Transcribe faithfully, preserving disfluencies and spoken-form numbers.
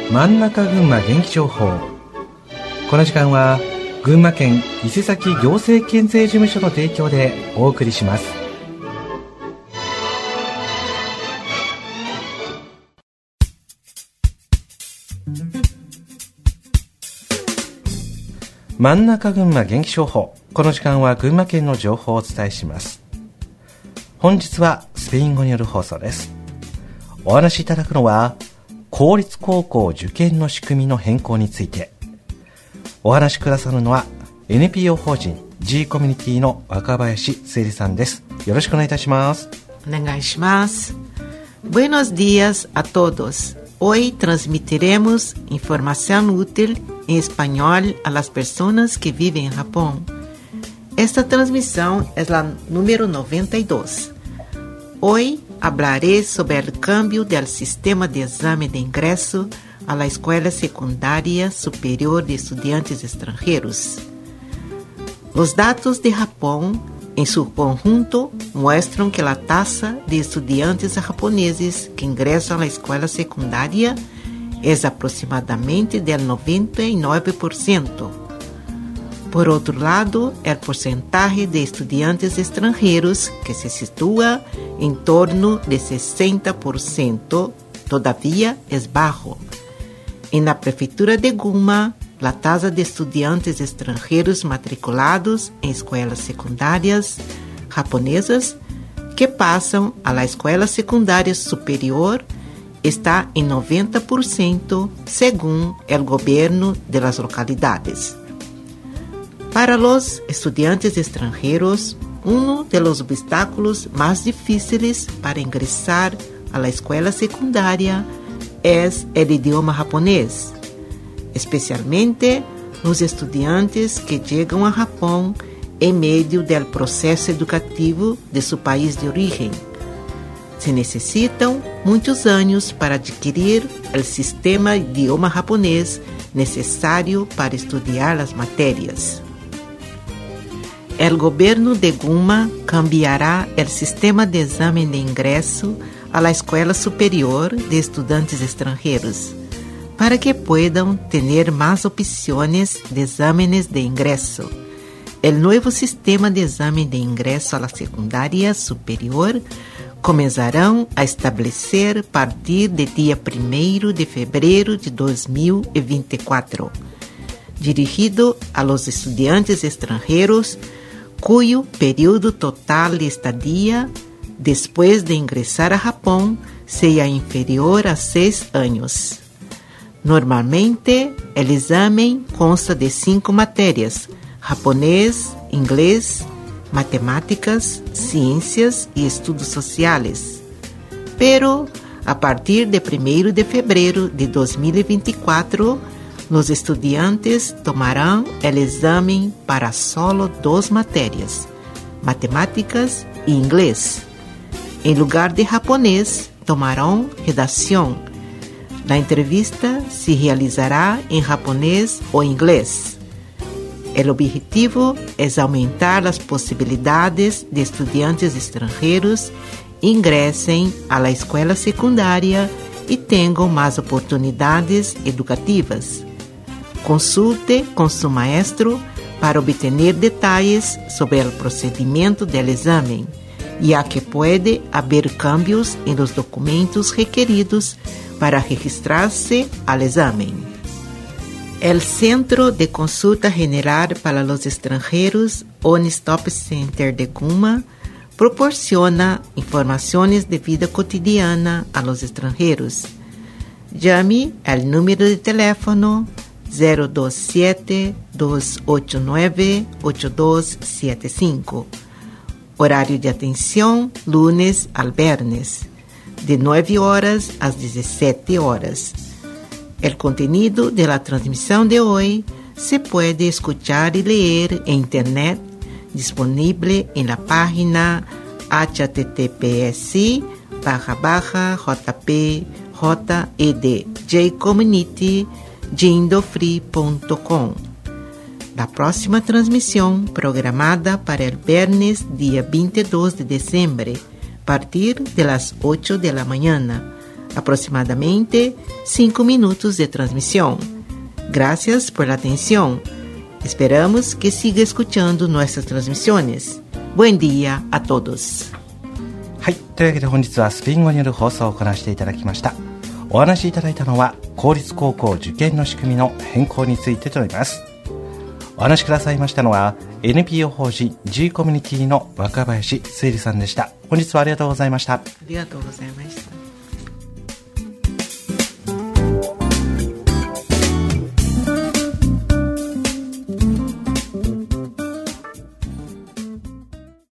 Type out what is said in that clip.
真ん中群馬元気情報。この時間は群馬県伊勢崎行政県税事務所の提供でお送りします。真ん中群馬元気情報。この時間は群馬県の情報をお伝えします。本日はスペイン語による放送です。お話しいただくのは公立高校受験の仕組みの変更について。お話しくださるのは エヌピーオー 法人 G コミュニティの若林すえりさんです。よろしくお願いいたします。 お願いします。Buenos días a todos. Hoy transmitiremos información útil en español a las personas que viven en Japón. Esta transmisión es la número noventa y dos. Hoy hablaré sobre el cambio del sistema de examen de ingreso a la Escuela Secundaria Superior de Estudiantes Extranjeros. Los datos de Japón en su conjunto muestran que la tasa de estudiantes japoneses que ingresan a la escuela secundaria es aproximadamente del noventa y nueve por ciento. Por otro lado, el porcentaje de estudiantes extranjeros, que se sitúa en torno de sesenta por ciento, todavía es bajo. En la prefectura de Gunma, la tasa de estudiantes extranjeros matriculados en escuelas secundarias japonesas que pasan a la escuela secundaria superior está en noventa por ciento según el gobierno de las localidades. Para los estudiantes extranjeros, uno de los obstáculos más difíciles para ingresar a la escuela secundaria es el idioma japonés, especialmente los estudiantes que llegan a Japón en medio del proceso educativo de su país de origen. Se necesitan muchos años para adquirir el sistema de idioma japonés necesario para estudiar las materias. El gobierno de Gunma cambiará el sistema de examen de ingreso a la Escuela Superior de Estudiantes Extranjeros para que puedan tener más opciones de exámenes de ingreso. El nuevo sistema de examen de ingreso a la secundaria superior comenzarán a establecer a partir del día primero de febrero de dos mil veinticuatro, dirigido a los estudiantes extranjeros cuyo periodo total de estadía después de ingresar a Japón sea inferior a seis años. Normalmente, el examen consta de cinco materias: japonés, inglés, matemáticas, ciencias y estudios sociales. Pero, a partir de primero de febrero de dos mil veinticuatro, los estudiantes tomarán el examen para solo dos materias, matemáticas e inglés. En lugar de japonés, tomarán redacción. La entrevista se realizará en japonés o inglés. El objetivo es aumentar las posibilidades de estudiantes extranjeros ingresen a la escuela secundaria y tengan más oportunidades educativas. Consulte con su maestro para obtener detalles sobre el procedimiento del examen, ya que puede haber cambios en los documentos requeridos para registrarse al examen. El Centro de Consulta General para los Extranjeros, One Stop Center de Gunma, proporciona informaciones de vida cotidiana a los extranjeros. Llame al número de teléfono cero dos siete, dos ocho nueve, ocho dos siete cinco. Horario de atención lunes al viernes, de nueve horas a diecisiete horas. El contenido de la transmisión de hoy se puede escuchar y leer en internet, disponible en la página h t t p s barra barra jp jd jcommunity jindofree punto com. La próxima transmisión, programada para el viernes día veintidós de diciembre, a partir de las ocho de la mañana, aproximadamente cinco minutos de transmisión. Gracias por la atención. Esperamos que siga escuchando nuestras transmisiones. Buen día a todos. はい、というわけで本日はスペイン語による放送を行わせていただきました。お話しいただいたのは公立高校受験の仕組みの変更についてとなります。お話しくださいましたのは エヌピーオー 法人 G コミュニティの若林すいりさんでした。本日はありがとうございました。 ありがとうございました。